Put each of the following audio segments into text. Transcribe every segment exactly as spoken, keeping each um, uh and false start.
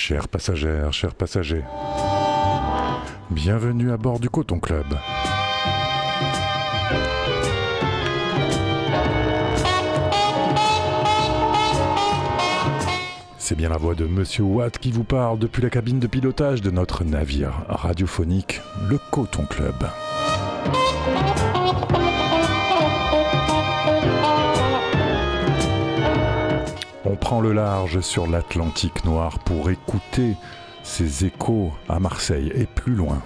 Chères passagères, chers passagers, bienvenue à bord du Coton Club. C'est bien la voix de Monsieur Watt qui vous parle depuis la cabine de pilotage de notre navire radiophonique, le Coton Club. On prend le large sur l'Atlantique noir pour écouter ses échos à Marseille et plus loin.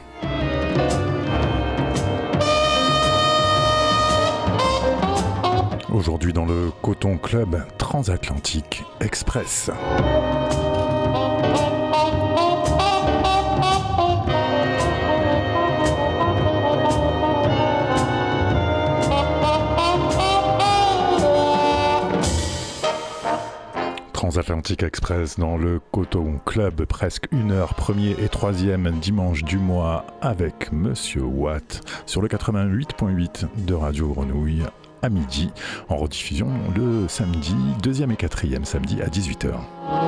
Aujourd'hui dans le Coton Club Transatlantique Express. Transatlantique Express dans le Coton Club, presque une heure, premier et troisième dimanche du mois avec Monsieur Watt sur le quatre-vingt-huit virgule huit de Radio Grenouille à midi, en rediffusion le samedi, deuxième et quatrième samedi à dix-huit heures.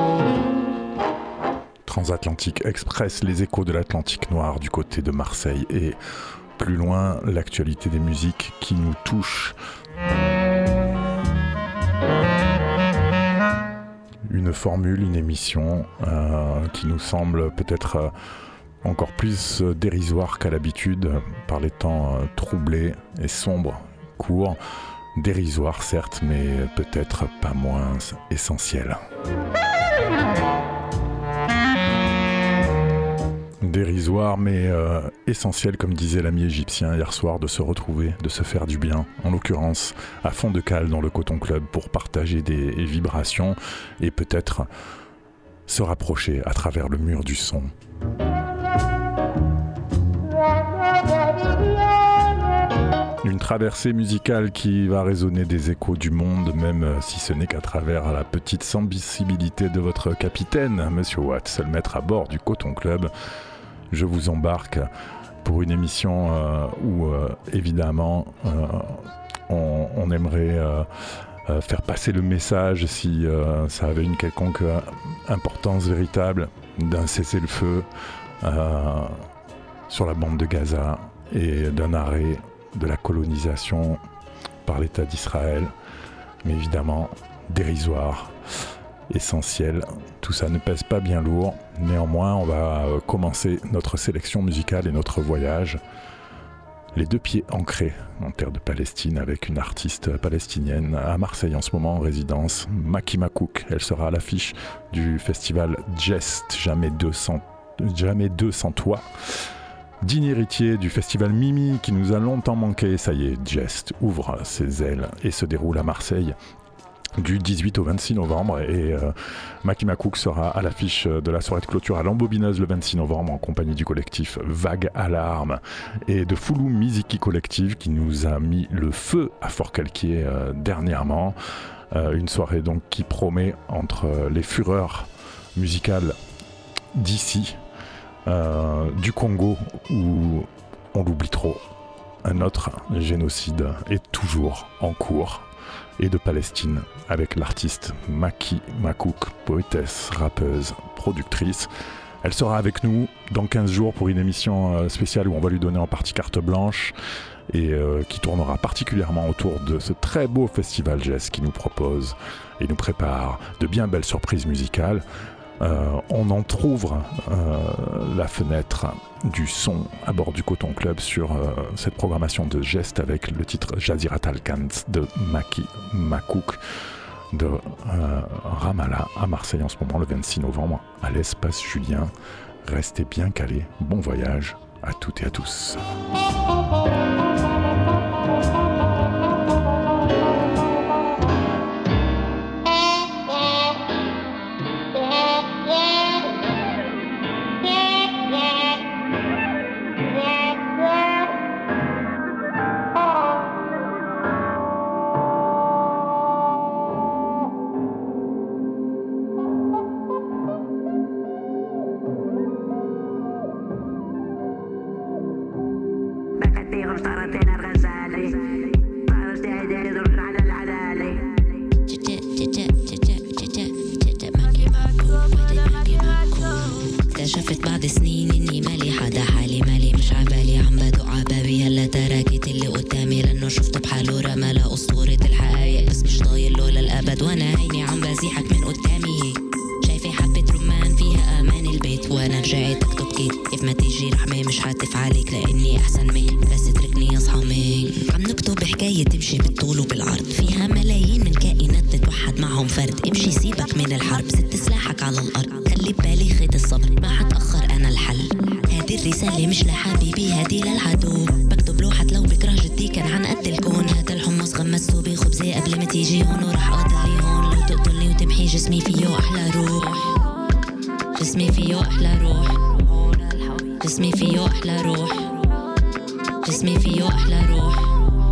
Transatlantique Express, les échos de l'Atlantique noir du côté de Marseille et plus loin, l'actualité des musiques qui nous touchent. Une formule, une émission euh, qui nous semble peut-être euh, encore plus euh, dérisoire qu'à l'habitude par les temps euh, troublés et sombres, courts, dérisoire certes, mais peut-être pas moins essentiel. Dérisoire mais euh, essentiel, comme disait l'ami égyptien hier soir, de se retrouver, de se faire du bien, en l'occurrence à fond de cale dans le Coton Club pour partager des vibrations et peut-être se rapprocher à travers le mur du son. Une traversée musicale qui va résonner des échos du monde, même si ce n'est qu'à travers la petite sensibilité de votre capitaine, Monsieur Watt, seul maître à bord du Coton Club. Je vous embarque pour une émission euh, où, euh, évidemment, euh, on, on aimerait euh, euh, faire passer le message, si euh, ça avait une quelconque euh, importance véritable, d'un cessez-le-feu euh, sur la bande de Gaza et d'un arrêt de la colonisation par l'État d'Israël, mais évidemment dérisoire, essentiel. Tout ça ne pèse pas bien lourd. Néanmoins, on va commencer notre sélection musicale et notre voyage, les deux pieds ancrés en terre de Palestine, avec une artiste palestinienne à Marseille en ce moment en résidence, Maki Makouk. Elle sera à l'affiche du festival Geste, jamais deux sans, jamais deux sans toi. Digne héritier du festival Mimi qui nous a longtemps manqué, ça y est, Geste ouvre ses ailes et se déroule à Marseille du dix-huit au vingt-six novembre, et euh, Maki Makouk sera à l'affiche de la soirée de clôture à l'Ambobineuse le vingt-six novembre en compagnie du collectif Vague Alarme et de Foulou Miziki Collective qui nous a mis le feu à Fort-Calquier euh, dernièrement. Euh, une soirée donc qui promet, entre euh, les fureurs musicales d'ici, Euh, du Congo où on l'oublie trop, un autre génocide est toujours en cours, et de Palestine avec l'artiste Maki Makouk, poétesse, rappeuse, productrice. Elle sera avec nous dans quinze jours pour une émission spéciale où on va lui donner en partie carte blanche et euh, qui tournera particulièrement autour de ce très beau festival Jazz qui nous propose et nous prépare de bien belles surprises musicales. Euh, on entrouvre euh, la fenêtre du son à bord du Coton Club sur euh, cette programmation de Geste avec le titre Jazirat Al-Kans de Maki Makouk de euh, Ramallah à Marseille en ce moment le vingt-six novembre à l'espace Julien. Restez bien calés, bon voyage à toutes et à tous. I'm اكتشفت بعد سنين اني مالي حدا حالي مالي مش عبالي عم بدق عبابي هلا تراكت اللي قدامي لانه شفته بحاله رمى اسطورة الحقايق بس مش طايل له للابد وانا عيني عم بزيحك من قدامي شايفة حبة رمان فيها امان البيت وانا رجعت اكتب كيف كيف ما تيجي رحمة مش حاتف عليك لاني احسن منك بس اتركني اصحى منك عم نكتب حكاية تمشي بالطول وبالعرض فيها ملايين من كائنات تتوحد معهم فرد امشي سيبك من الحرب ست سلاحك على الارض خلي ببالي خيط الصبر ما حتأخر انا الحل هذه الرسالة مش لحبيبي هذه للعدو بكتب لوحة لو بكره جدي كان عن قد الكون هذا الحمص غمسته بخبزي قبل ما تيجي هون وراح اقتلي هون لو تقتلني وتمحي جسمي فيه احلى روح جسمي فيه احلى روح جسمي فيه احلى روح جسمي فيه احلى روح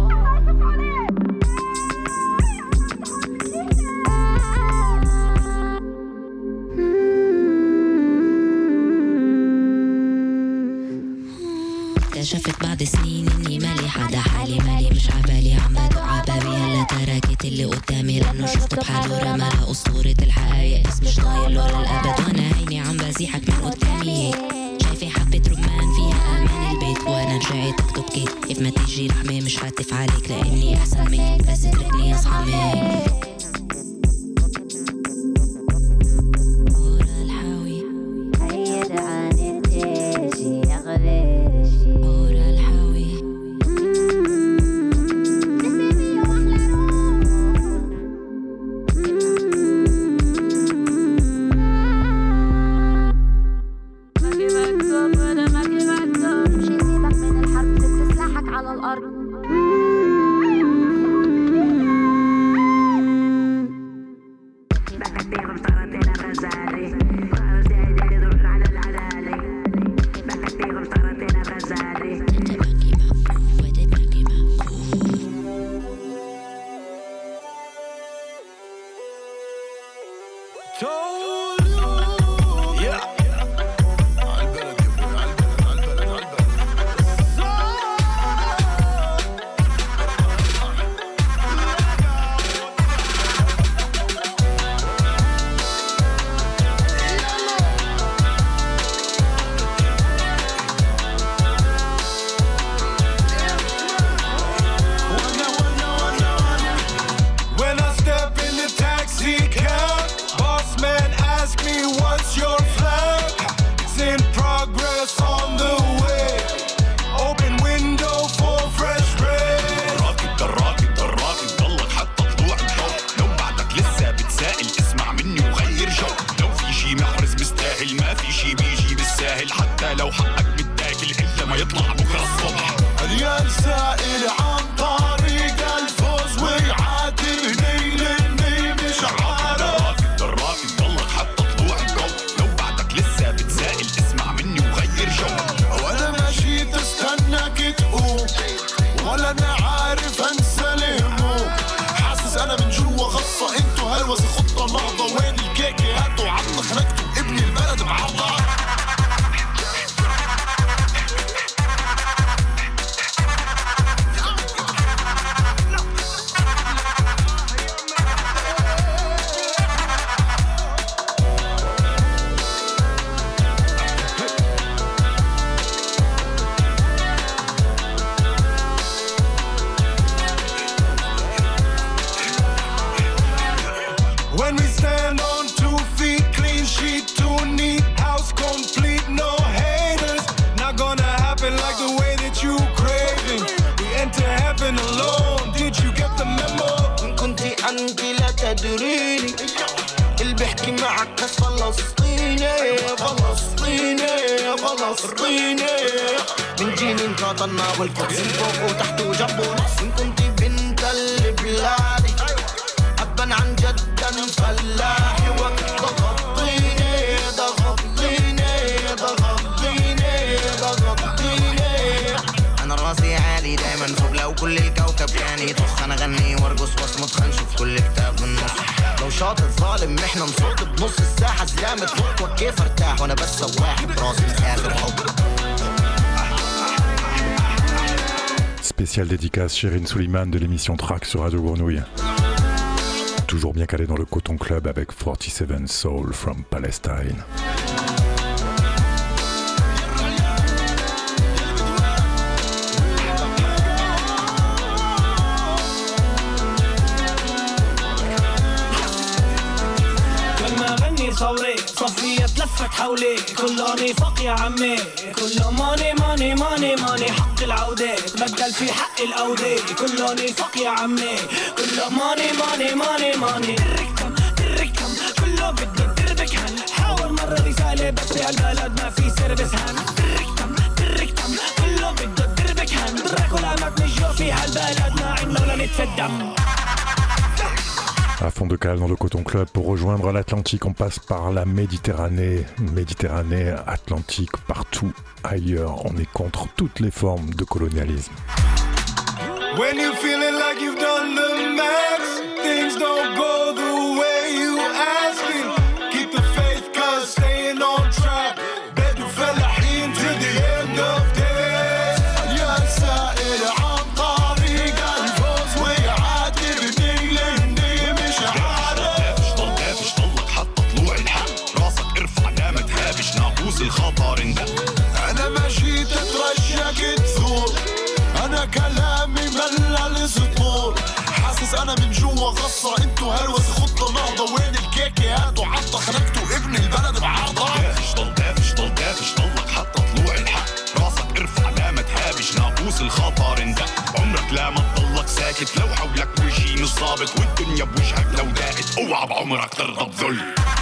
اكتشفت بعد سنين اني مالي حدا حالي مالي مش عبالي عم بدق عبابي هلا تراكت اللي قدامي لانه شفته بحاله رمى اسطورة الحقايق بس مش طايل له للابد وانا عيني عم بزيحك من قدامي شايفة حبة رمان فيها امان البيت وانا رجعت اكتب كيف كيف ما تيجي رحمة مش حاتف عليك لاني احسن منك بس اتركني اصحى منك والقدس فوق وتحت وجنبه نص إن كنت بنت البلاد أبا عن جدا فلاحي وضغطيني ضغطيني ضغطيني ضغطيني أنا راسي عالي دايما فوق لو كل الكوكب كان يطخ أنا غني وارقص واصمت خنشوف كل كتاب بالنص لو شاطر ظالم احنا نصوت بنص الساحة زلامة فوق كيف ارتاح وانا بس سواح براسي مسافر حب. Spéciale dédicace Shirin Suleiman de l'émission Track sur Radio Grenouille. Toujours bien calé dans le Coton Club avec forty-seven Soul from Palestine. صفية تلفت حولي كله نفاق يا عمي كله ماني ماني ماني ماني حق العودة تبدل في حق الأودة كله نفاق يا عمي كله ماني ماني ماني ماني تركتم تركتم كله بده تربك هن حاول مرة رسالة بس في هالبلد ما في سيرفيس هن تركتم تركتم كله بده تربك هن دراكولا ما بنجوا في هالبلد ما عنا ولا نتفدم. À fond de cale dans le Coton Club, pour rejoindre l'Atlantique, on passe par la Méditerranée. Méditerranée, Atlantique, partout ailleurs. On est contre toutes les formes de colonialisme. When you feeling like you've done the max, things don't go the way you asking. Keep the faith, cause staying on track. بدو فلاحين to the end of days. يا سائل عن طريق الفوز ويعاتبني لاني مش عارف. دافش ضل دافش ضلك حتى طلوع الحق. راسك ارفع لا ما تهابش ناقوس الخطر اندق. انا ما جيت اترجاك تثور. انا كلامي ملل سطور. حاسس انا من جوا غصة انتو هلوس خطة نهضة. وين الكيكة هاتوا عطة خلقتوا ابن البلد بعرضة. دافش ضل دافش ضل دافش ضلك حتى طلوع الحق. راسك ارفع لا ما تهابش ناقوس الخطر اندق. عمرك لا ما تضلك ساكت لو حولك وجهي مش ظابط. والدنيا بوجهك لو داقت اوعى بعمرك ترضى بذل.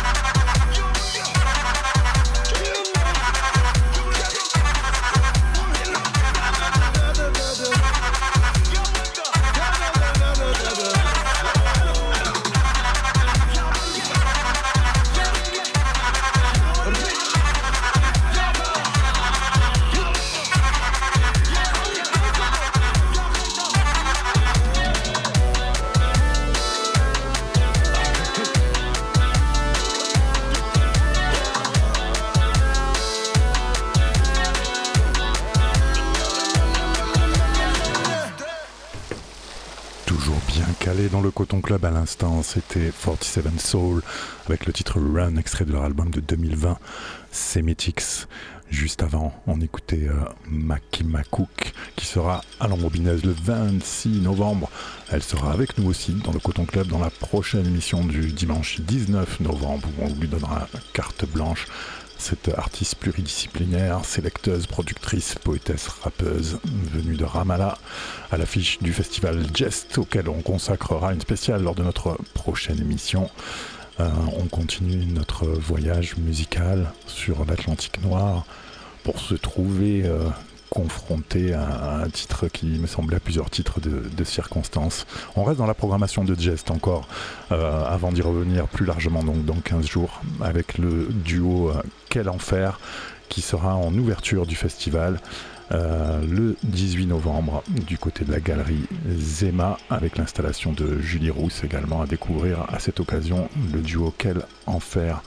Dans le Coton Club à l'instant, c'était forty-seven Soul avec le titre Run, extrait de leur album de deux mille vingt, Semitics. Juste avant, on écoutait euh, Makima Cook qui sera à l'Embobinaise le vingt-six novembre. Elle sera avec nous aussi dans le Coton Club dans la prochaine émission du dimanche dix-neuf novembre où on lui donnera carte blanche. Cette artiste pluridisciplinaire, sélecteuse, productrice, poétesse, rappeuse, venue de Ramallah, à l'affiche du festival Jest, auquel on consacrera une spéciale lors de notre prochaine émission. Euh, on continue notre voyage musical sur l'Atlantique Noir pour se trouver euh, confronté à un titre qui me semblait à plusieurs titres de, de circonstances. On reste dans la programmation de Jest encore, euh, avant d'y revenir plus largement donc dans quinze jours, avec le duo euh, Quel Enfer, qui sera en ouverture du festival euh, le dix-huit novembre du côté de la galerie Zema, avec l'installation de Julie Rousse également à découvrir à cette occasion. Le duo Quel Enfer,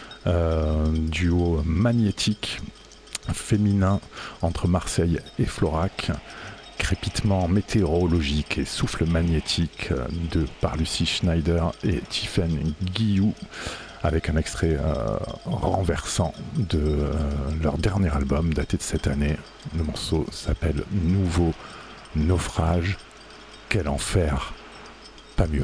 euh, duo magnétique, féminin entre Marseille et Florac, crépitement météorologique et souffle magnétique de par Lucie Schneider et Tiffaine Guillou, avec un extrait euh, renversant de euh, leur dernier album daté de cette année. Le morceau s'appelle Nouveau Naufrage. Quel enfer, pas mieux.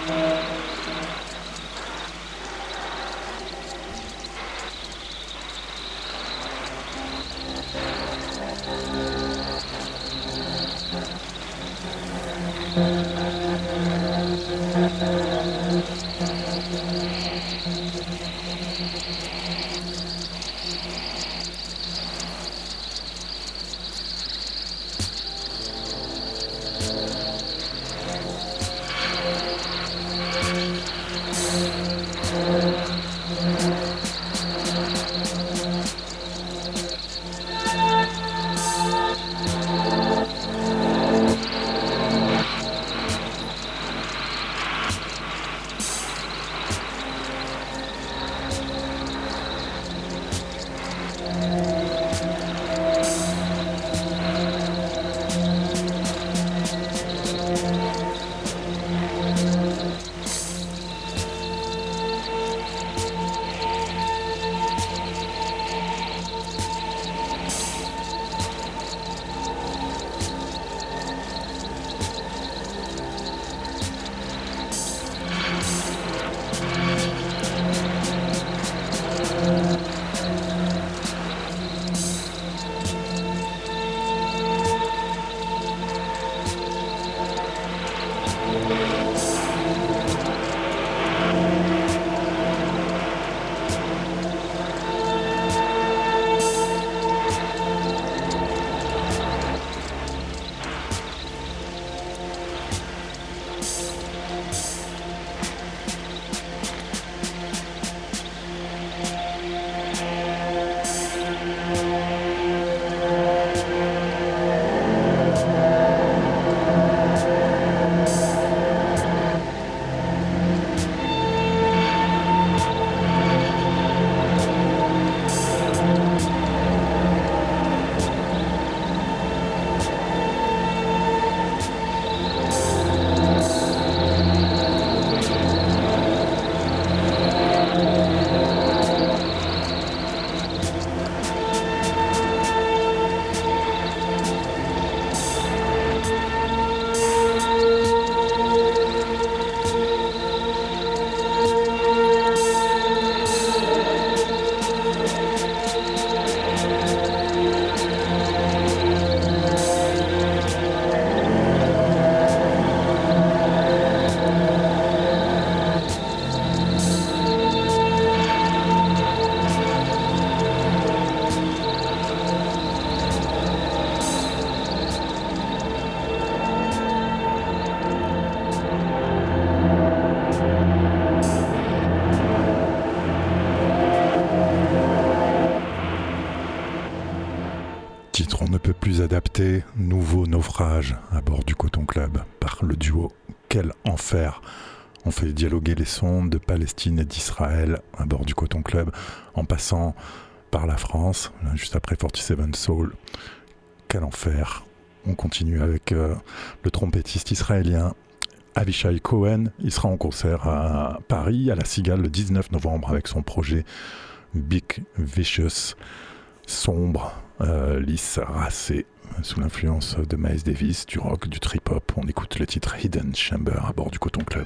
Adapté, nouveau naufrage à bord du Coton Club par le duo Quel Enfer. On fait dialoguer les sons de Palestine et d'Israël à bord du Coton Club en passant par la France, juste après quarante-sept Soul. Quel Enfer. On continue avec euh, le trompettiste israélien Avishai Cohen. Il sera en concert à Paris, à la Cigale, le dix-neuf novembre avec son projet Big Vicious. Sombre, euh, lisse, racé, sous l'influence de Miles Davis, du rock, du trip-hop. On écoute le titre Hidden Chamber à bord du Coton Club.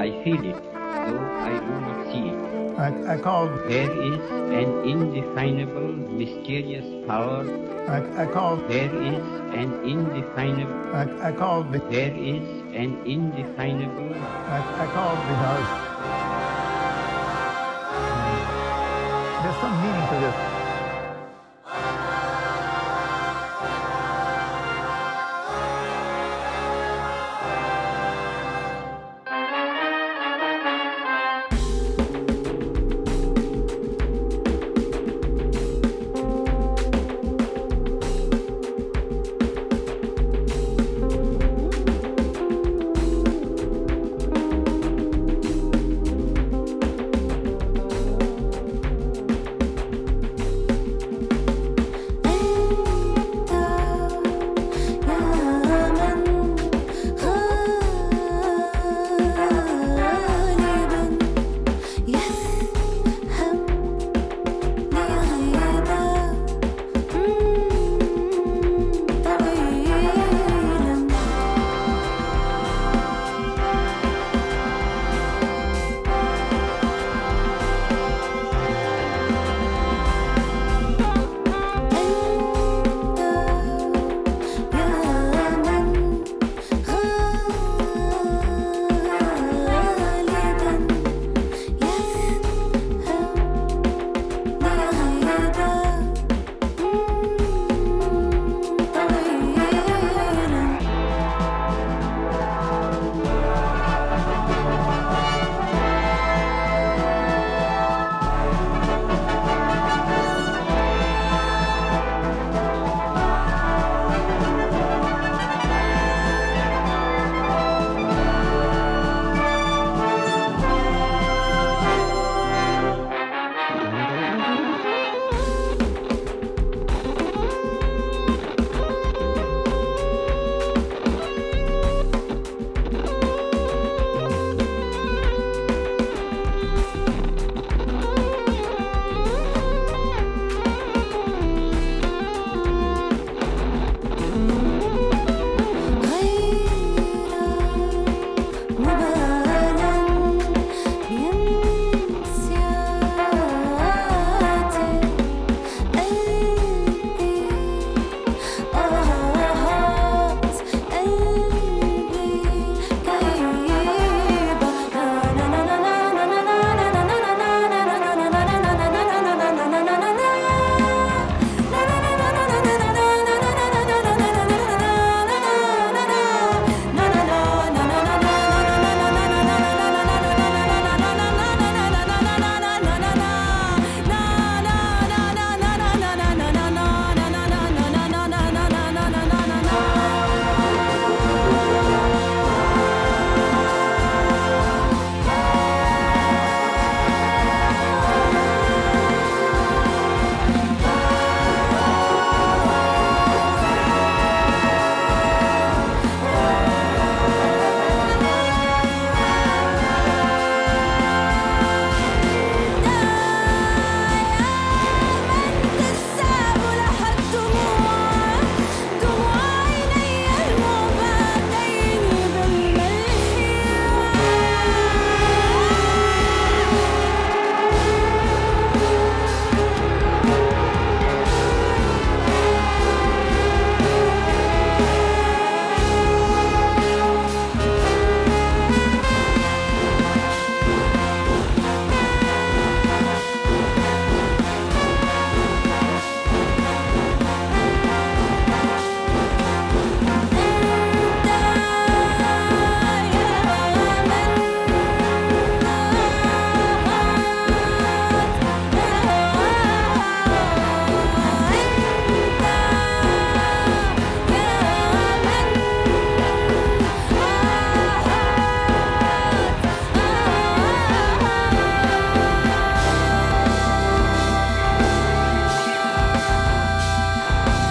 I feel it, though I do not see it. I, I called. There is an indefinable, mysterious power. I, I called. There is an indefinable. I, I called. Be- there is an indefinable. I, I called because there's some meaning to this.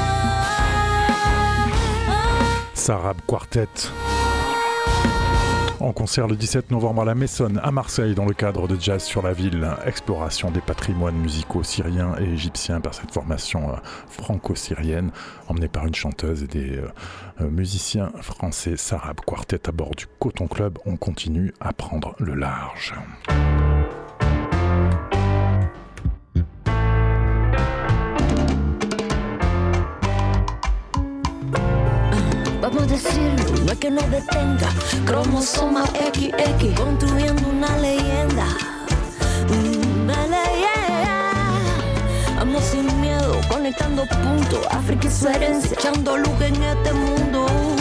Sarab Quartet en concert le dix-sept novembre à la Messonne, à Marseille, dans le cadre de Jazz sur la ville. Exploration des patrimoines musicaux syriens et égyptiens par cette formation franco-syrienne, emmenée par une chanteuse et des euh, musiciens français. Sarab Quartet à bord du Coton Club. On continue à prendre le large. Vamos a decirlo, no es que nos detenga. Cromosoma equis equis, construyendo una leyenda. Una leyenda. Vamos sin miedo, conectando puntos. África y su herencia, echando luz en este mundo.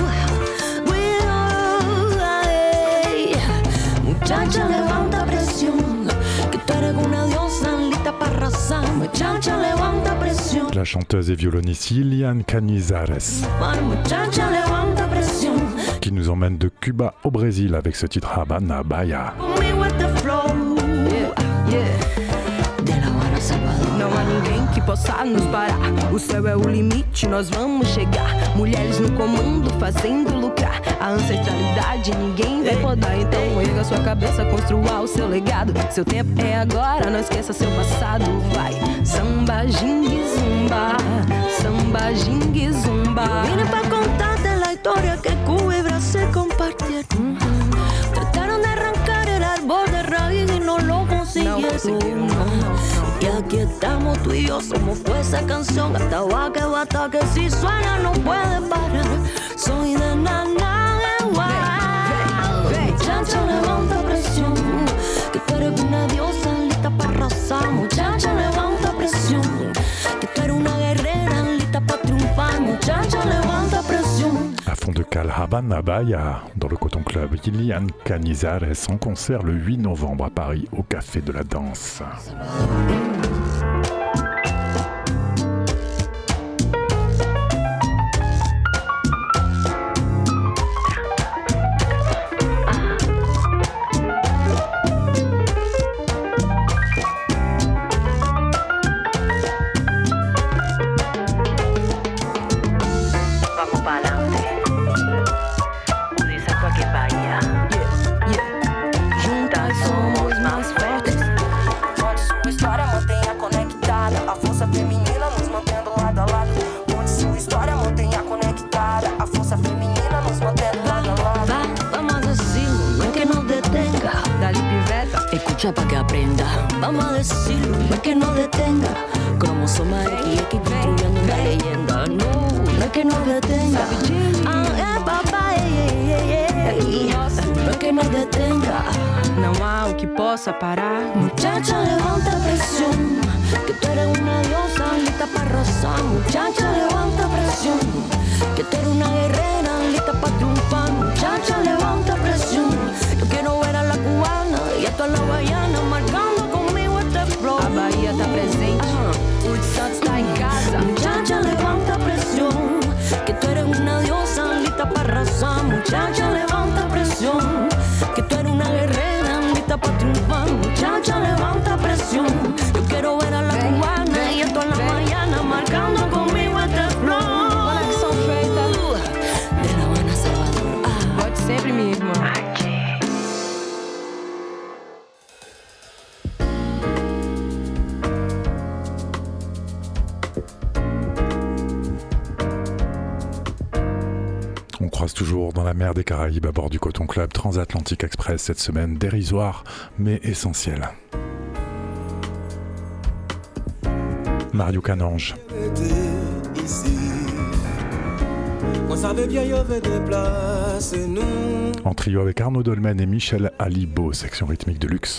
Muchacha, levanta presión, que tú eres una diosa lista para arrasar. Muchacha, levanta presión. La chanteuse et violoniste Lilian Canizares, Muchacha, levanta presión. qui nous emmène de Cuba au Brésil avec ce titre Habana Bahia. Conmigo este flow. Yeah, yeah. De La Habana, Salvador. Não há ninguém que possa nos parar. O céu é o limite, nós vamos chegar. Mulheres no comando, fazendo lucrar. A ancestralidade ninguém vai podar. Então erga sua cabeça, construa o seu legado. Seu tempo é agora, não esqueça seu passado. Vai, samba, jingue, zumba. Samba, jingue, zumba. Vine pa' contarte la historia que Cuba y Brasil compartieron. Trataron de arrancar el árbol de raíz y no lo consiguieron. No consiguieron, no, no, no. Y aquí estamos tú y yo, somos fuerza canción. Hasta va que bata que si suena no puede parar. Soy de nana de guay. Muchacha, levanta presión, que tú eres una diosa lista para arrasar. Muchacha, levanta presión, que tú eres una guerrera lista para triunfar. Muchacha, levanta presión. À fond de cale Habana Bahia dans le Coton Club. Lilian Canizares en concert le huit novembre à Paris au Café de la Danse. Para que aprenda, vamos a decirlo, no es que no detenga. Cromosoma equis equis construyendo una leyenda. No, no es que no detenga. Ah, eh, papá, eh, eh, eh, eh. No es que no detenga. Não há o que possa parar. Muchacha, levanta presión, que tú eres una diosa lista para arrasar. Muchacha, levanta presión, que tú eres una guerrera lista para triunfar. Muchacha, levanta presión, yo quiero ver a la cubana y a toda la baiana marcando conmigo este flow. A Bahia tá presente, uh-huh. O Woodstock está em casa. Muchacha, levanta presión, que tú eres una diosa lista para arrasar. Muchacha, levanta presión, que tú eres una guerrera lista para triunfar. Muchacha, levanta presión, yo quiero ver a la ven, cubana ven, y a toda la baiana marcando conmigo este flow. Conexão feita de La Habana, Salvador. Ah. Pode sempre, minha irmã. On croise toujours dans la mer des Caraïbes à bord du Coton Club Transatlantic Express cette semaine, dérisoire mais essentiel. Mario Canange. En trio avec Arnaud Dolmen et Michel Alibo, section rythmique de luxe.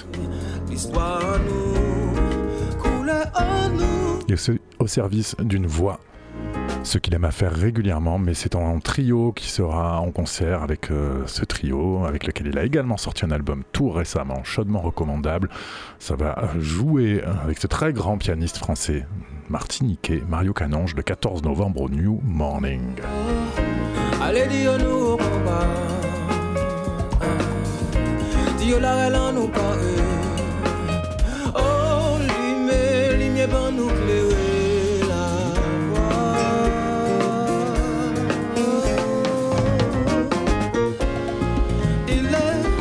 Et au service d'une voix, ce qu'il aime à faire régulièrement, mais c'est en trio qui sera en concert avec euh, ce trio, avec lequel il a également sorti un album tout récemment, chaudement recommandable. Ça va jouer avec ce très grand pianiste français martiniquais, Mario Canange, le quatorze novembre au New Morning. Allez, dis-nous au combat, dis-nous la reine nous parle. Oh, l'imé, l'imé, ben nous clérer la voix. Il est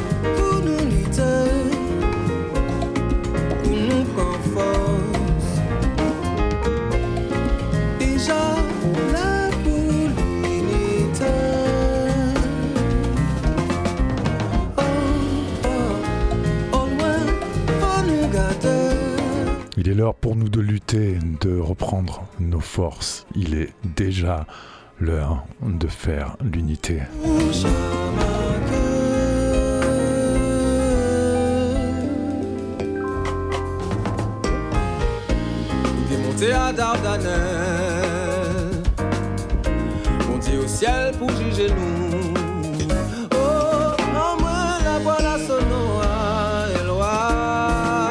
Il est l'heure pour nous de lutter, de reprendre nos forces. Il est déjà l'heure de faire l'unité. Monter à Dardanelles, monter au ciel pour juger nous. Oh, en moi la voix la sonore est loin.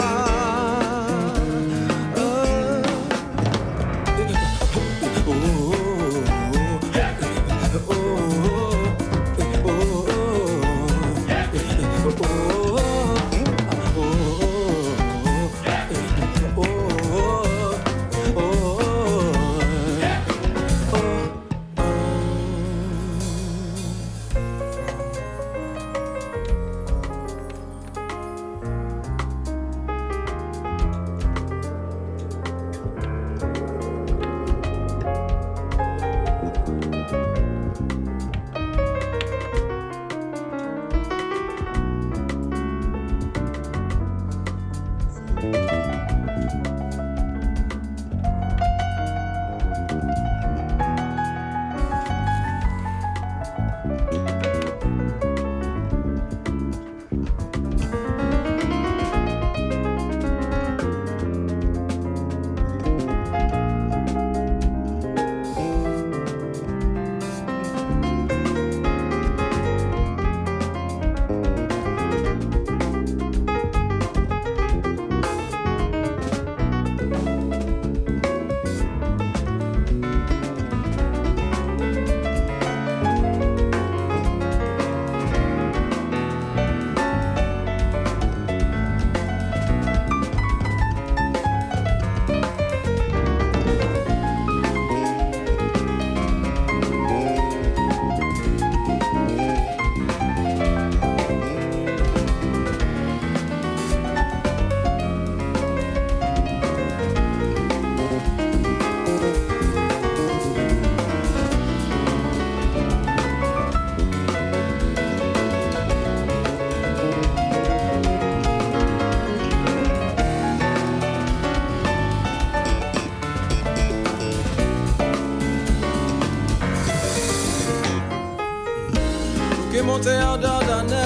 Monter en Dardanelles,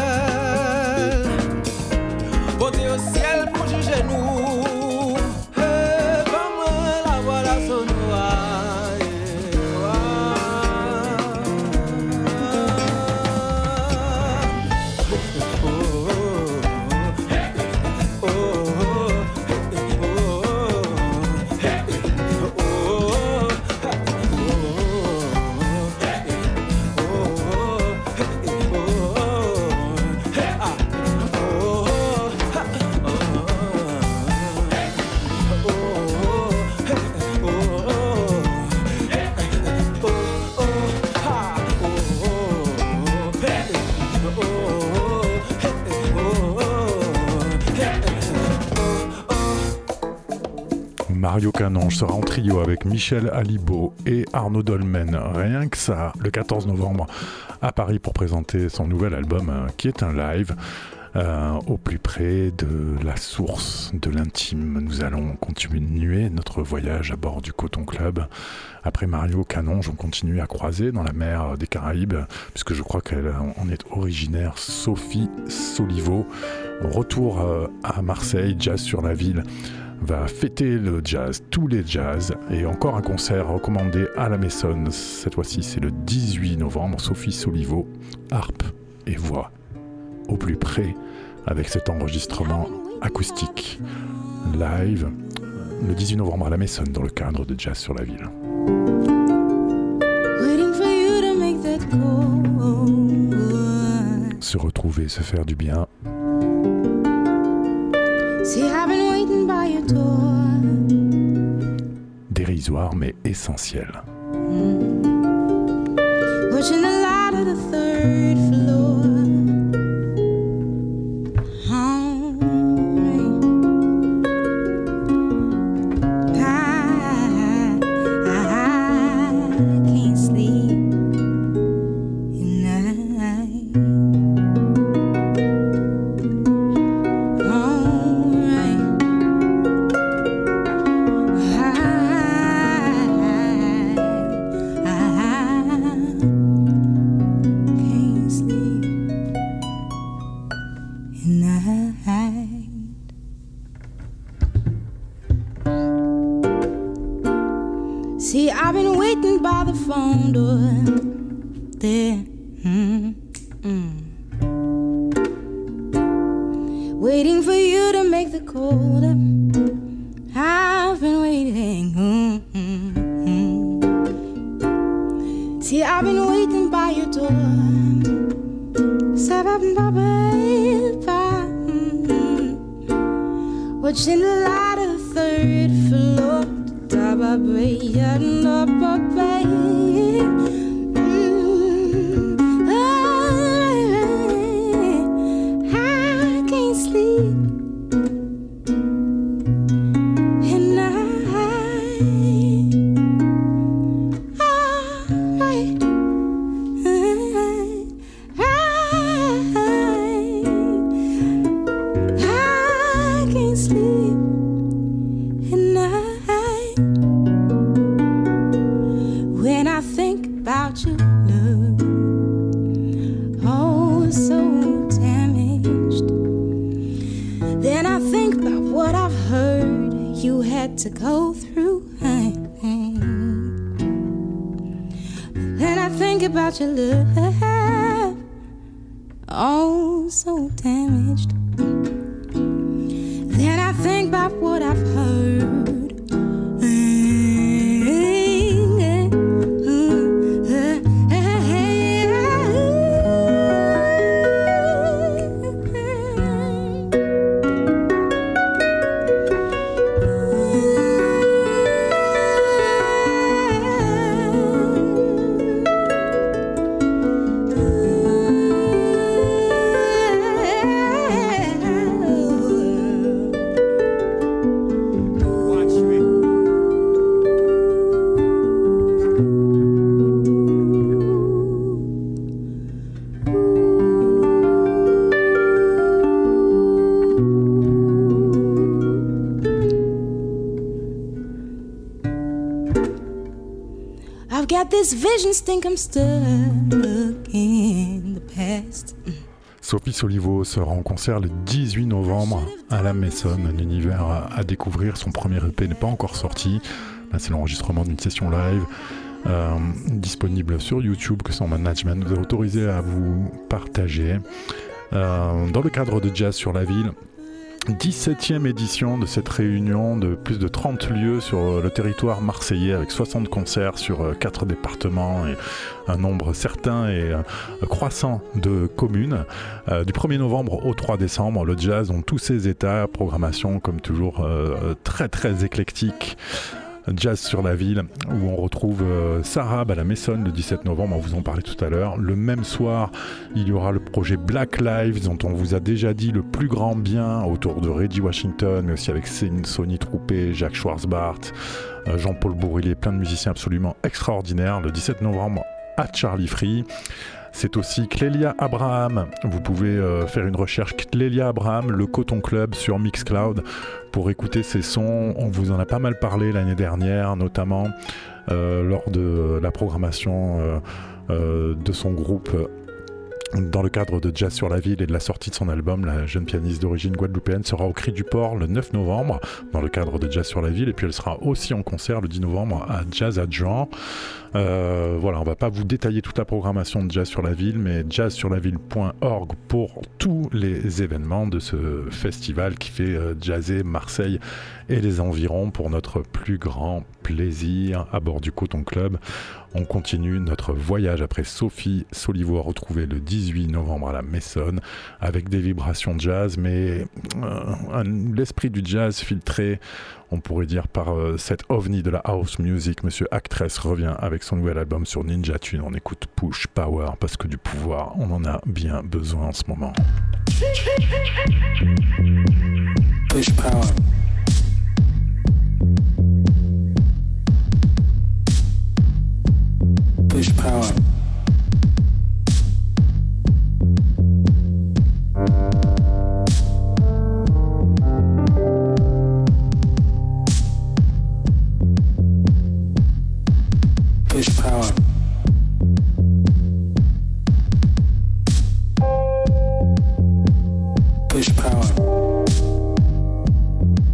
monter au ciel pour juger nous. Hey, comme la voix la sonore est Mario Canonge sera en trio avec Michel Alibo et Arnaud Dolmen. Rien que ça, le quatorze novembre à Paris pour présenter son nouvel album euh, qui est un live euh, au plus près de la source, de l'intime. Nous allons continuer notre voyage à bord du Coton Club. Après Mario Canonge, on continue à croiser dans la mer des Caraïbes, puisque je crois qu'elle en est originaire, Sophie Solivo. Retour euh, à Marseille, Jazz sur la ville va fêter le jazz, tous les jazz, et encore un concert recommandé à la Maison. Cette fois-ci, c'est le dix-huit novembre. Sophie Solivo, harpe et voix, au plus près, avec cet enregistrement acoustique live, le dix-huit novembre à la Maison, dans le cadre de Jazz sur la ville. Se retrouver, se faire du bien. Dérisoire mais essentiel. Watching the light of the third floor. the phone door. There, mm, mm. Waiting for you to make the call. I've been waiting. Mm, mm, mm. See, I've been waiting by your door. Watching the light of the third floor. I can't sleep. And I, alright. To go through, then I think about your love, oh so damaged. Then I think about what I've heard. This vision think I'm stuck in the past. Sophie Solivo sera en concert le dix-huit novembre à la Maison, un univers à découvrir. Son premier E P n'est pas encore sorti. Là, c'est l'enregistrement d'une session live euh, disponible sur YouTube que son management nous a autorisé à vous partager. Euh, dans le cadre de Jazz sur la ville, dix-septième édition de cette réunion de plus de trente lieux sur le territoire marseillais avec soixante concerts sur quatre départements et un nombre certain et croissant de communes. Euh, du premier novembre au trois décembre, le jazz dans tous ses états, programmation comme toujours euh, très très éclectique. Jazz sur la ville, où on retrouve euh, Sarab à la Maison le dix-sept novembre, on vous en parlait tout à l'heure. Le même soir, il y aura le projet Black Lives, dont on vous a déjà dit le plus grand bien, autour de Reggie Washington, mais aussi avec Sonny Troupé, Jacques Schwarzbart, euh, Jean-Paul Bourrillet, plein de musiciens absolument extraordinaires. Le dix-sept novembre à Charlie Free. C'est aussi Clélia Abraham. Vous pouvez euh, faire une recherche Clélia Abraham, le Coton Club sur Mixcloud pour écouter ses sons. On vous en a pas mal parlé l'année dernière, notamment euh, lors de la programmation euh, euh, de son groupe dans le cadre de Jazz sur la ville et de la sortie de son album. La jeune pianiste d'origine guadeloupéenne sera au Cri du Port le neuf novembre dans le cadre de Jazz sur la ville, et puis elle sera aussi en concert le dix novembre à Jazz à Jean. Euh, voilà, on va pas vous détailler toute la programmation de Jazz sur la ville, mais jazz sur la ville point org pour tous les événements de ce festival qui fait euh, jazzer Marseille et les environs pour notre plus grand plaisir à bord du Coton Club. On continue notre voyage après Sophie Solivo à retrouver le dix-huit novembre à la Maison avec des vibrations jazz, mais euh, un, l'esprit du jazz filtré, on pourrait dire, par euh, cette ovni de la house music. Monsieur Actress revient avec son nouvel album sur Ninja Tune. On écoute Push Power parce que du pouvoir, on en a bien besoin en ce moment. Push Power. Push Power. Push Power. Push Power.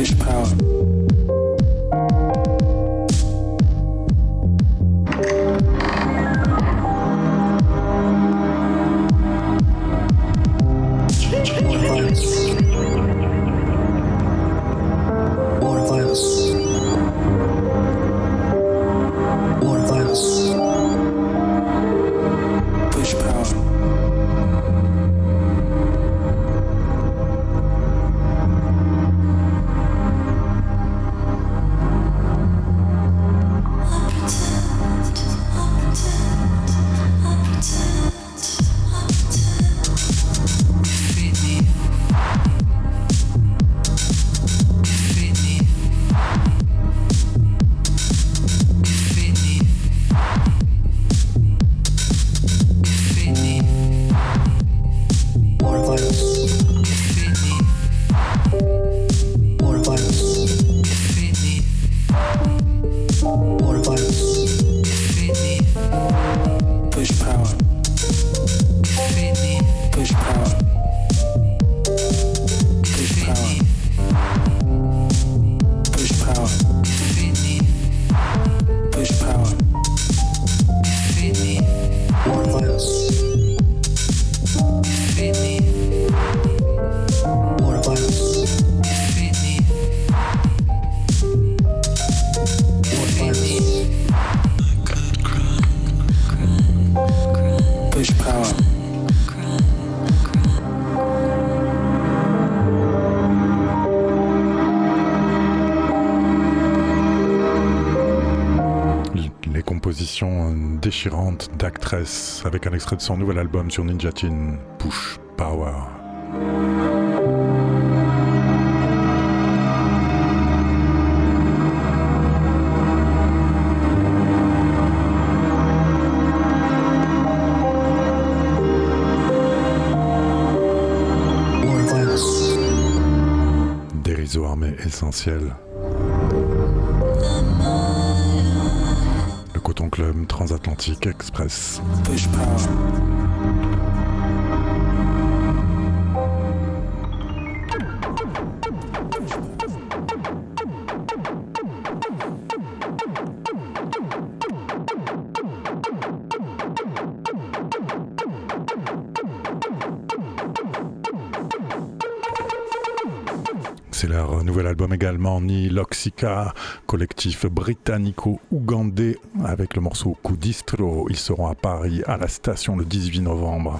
Push power. Déchirante d'Actress avec un extrait de son nouvel album sur Ninja Tune, Push Power. Dérisoire mais essentiel. Coton Club Transatlantique Express. Push power. C'est leur nouvel album également, Ni Loxica, collectif britannico-ougandais, avec le morceau Coup Distro. Ils seront à Paris, à la station, le dix-huit novembre.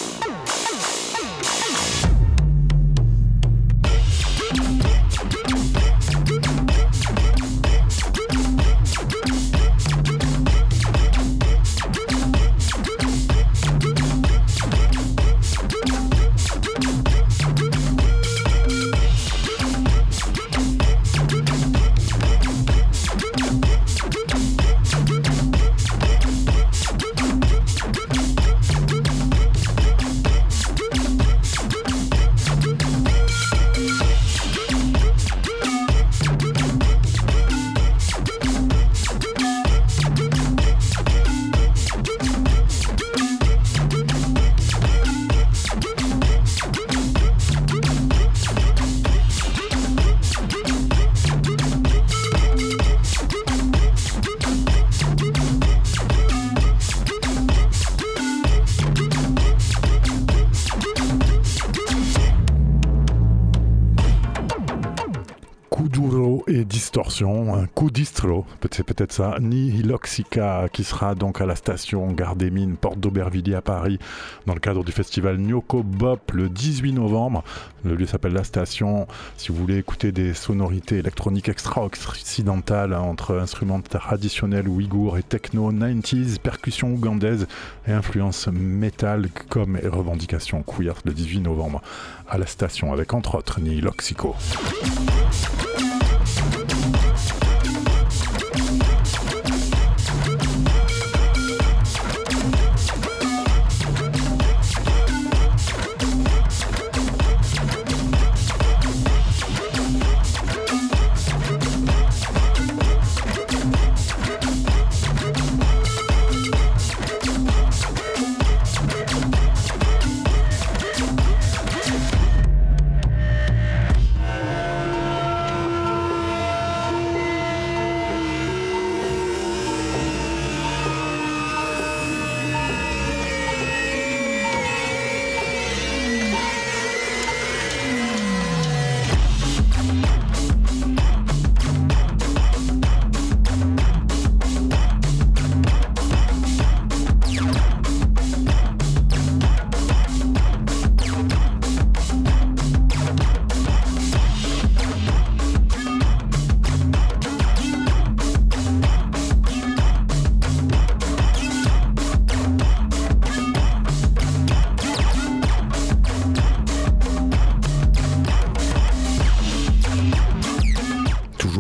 Un coup distro, c'est peut-être ça, Ni Loxica, qui sera donc à la station Gare des Mines, porte d'Aubervilliers à Paris, dans le cadre du festival Nyoko Bop le dix-huit novembre. Le lieu s'appelle La Station. Si vous voulez écouter des sonorités électroniques extra-occidentales, hein, entre instruments traditionnels ouïghours et techno quatre-vingt-dix, percussions ougandaises et influences métal comme et revendications queer, le dix-huit novembre à La Station, avec entre autres Ni Loxico.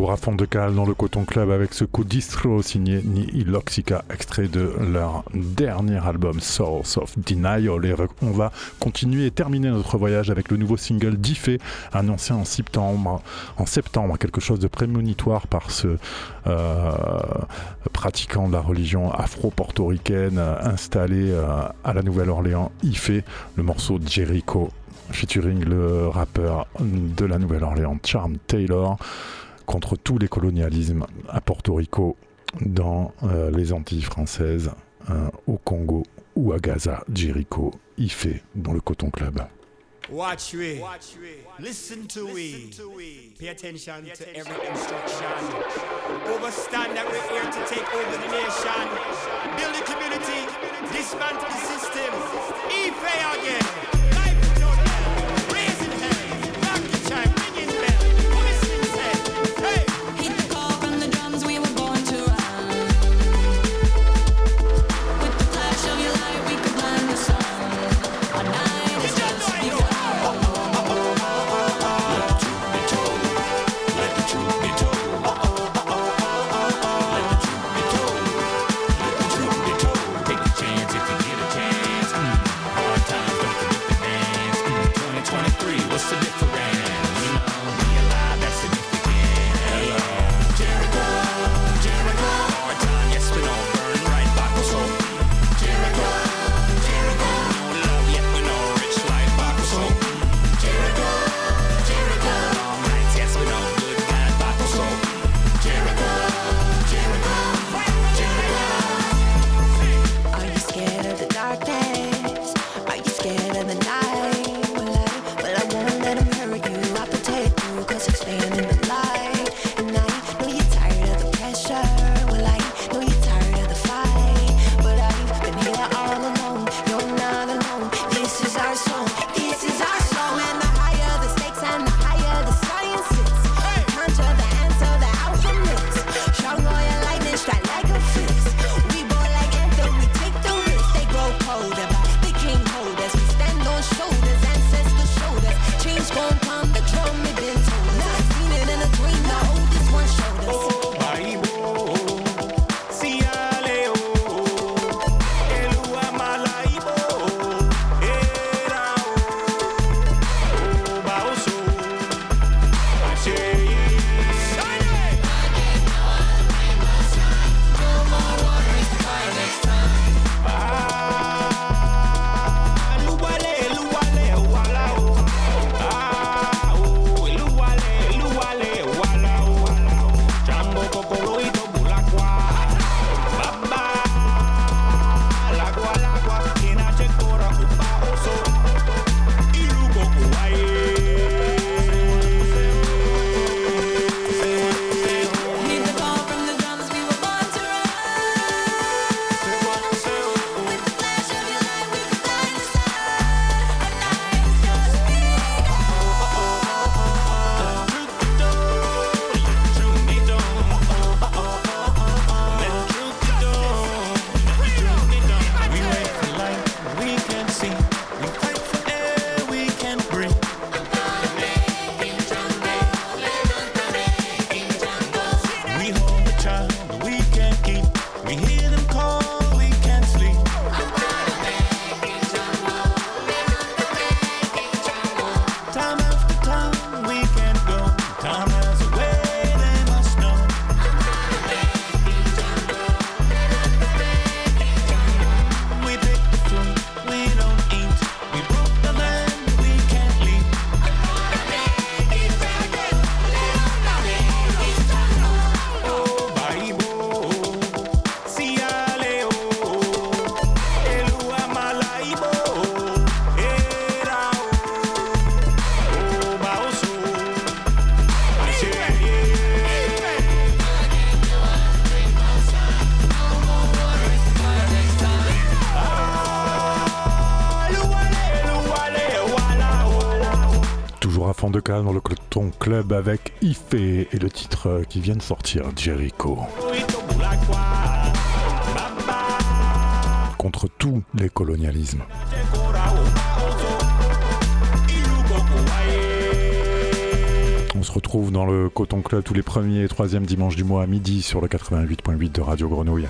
Toujours à fond de cale dans le Coton Club avec ce coup distro signé Ni Iloxica, extrait de leur dernier album Source of Denial. Et on va continuer et terminer notre voyage avec le nouveau single d'Ifé, annoncé en septembre, en septembre, quelque chose de prémonitoire par ce euh, pratiquant de la religion afro-portoricaine installé euh, à la Nouvelle-Orléans, Ifé, le morceau Jericho, featuring le rappeur de la Nouvelle-Orléans, Charm Taylor, contre tous les colonialismes à Porto Rico, dans euh, les Antilles françaises, euh, au Congo ou à Gaza. Jericho, Ifé, dans le Coton Club. Watch we, listen to we, pay attention to every instruction. Overstand that we're here to take over the nation, build the community, dismantle the system. Ifé again. De calme dans le Coton Club avec Ifé et le titre qui vient de sortir, Jericho. Contre tous les colonialismes. On On se retrouve dans le Coton Club tous les premiers et troisièmes dimanches du mois à midi sur le quatre-vingt-huit point huit de Radio Grenouille.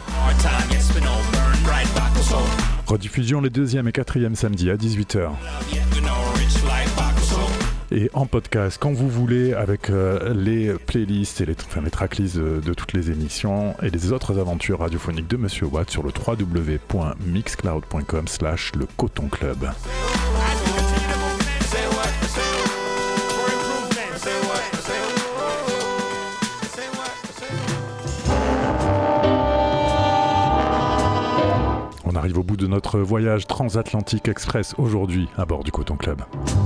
Rediffusion les deuxième et quatrième samedis à dix-huit heures. Et en podcast quand vous voulez avec euh, les playlists et les, enfin, les tracklists de, de toutes les émissions et les autres aventures radiophoniques de Monsieur Watt sur le w w w point mixcloud point com slash le Coton Club. On arrive au bout de notre voyage transatlantique express aujourd'hui à bord du Coton Club.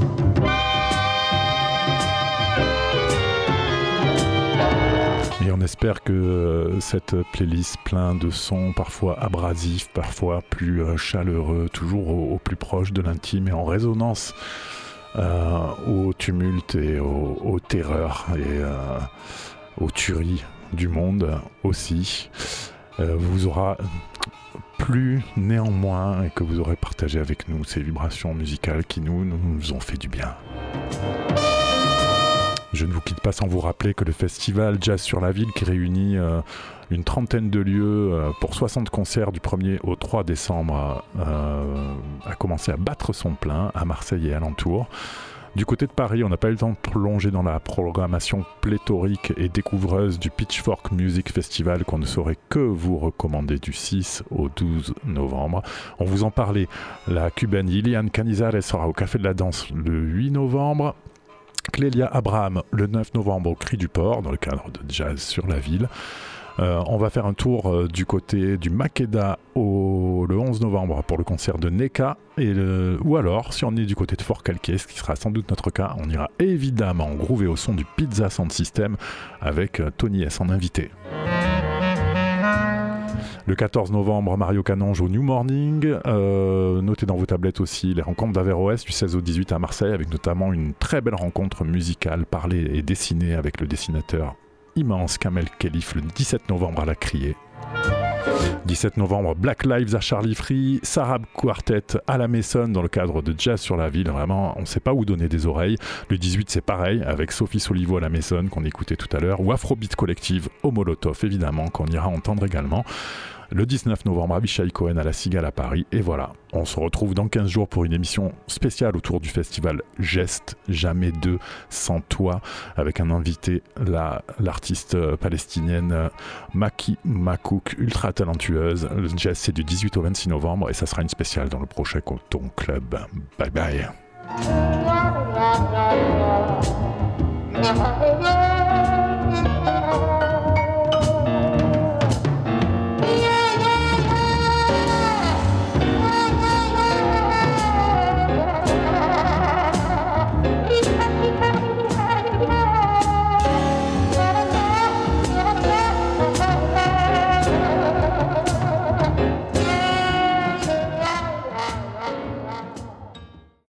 Et on espère que cette playlist plein de sons parfois abrasifs, parfois plus chaleureux, toujours au, au plus proche de l'intime et en résonance euh, au tumulte et au, aux terreurs et euh, aux tueries du monde aussi, euh, vous aura plu néanmoins et que vous aurez partagé avec nous ces vibrations musicales qui nous, nous ont fait du bien. Je ne vous quitte pas sans vous rappeler que le festival Jazz sur la Ville, qui réunit euh, une trentaine de lieux euh, pour soixante concerts du premier au trois décembre, euh, a commencé à battre son plein à Marseille et alentours. Du côté de Paris, on n'a pas eu le temps de plonger dans la programmation pléthorique et découvreuse du Pitchfork Music Festival qu'on ne saurait que vous recommander du six au douze novembre. On vous en parlait, la cubaine Lilian Canizares sera au Café de la Danse le huit novembre. Clélia Abraham le neuf novembre au Cri du Port dans le cadre de Jazz sur la Ville. Euh, on va faire un tour euh, du côté du Makeda au, le onze novembre pour le concert de Neka et le, ou alors si on est du côté de Fort Calquier, ce qui sera sans doute notre cas, on ira évidemment groover au son du Pizza Sound System avec euh, Tony S en invité. Le quatorze novembre, Mario Canonge au New Morning. Euh, notez dans vos tablettes aussi les rencontres d'Averroès du seize au dix-huit à Marseille, avec notamment une très belle rencontre musicale parlée et dessinée avec le dessinateur immense Kamel Khelif le dix-sept novembre à la Criée. dix-sept novembre, Black Lives à Charlie Free, Sarab Quartet à la Maison dans le cadre de Jazz sur la Ville. Vraiment, on ne sait pas où donner des oreilles. Le dix-huit, c'est pareil, avec Sophie Solivo à la Maison qu'on écoutait tout à l'heure, ou Afrobeat Collective au Molotov, évidemment, qu'on ira entendre également. Le dix-neuf novembre, Avishai Cohen à la Cigale à Paris. Et voilà, on se retrouve dans quinze jours pour une émission spéciale autour du festival Geste, jamais deux sans toi, avec un invité, la, l'artiste palestinienne Maki Makouk, ultra talentueuse. Le Geste, c'est du dix-huit au vingt-six novembre et ça sera une spéciale dans le prochain Coton Club. Bye bye. Thank you.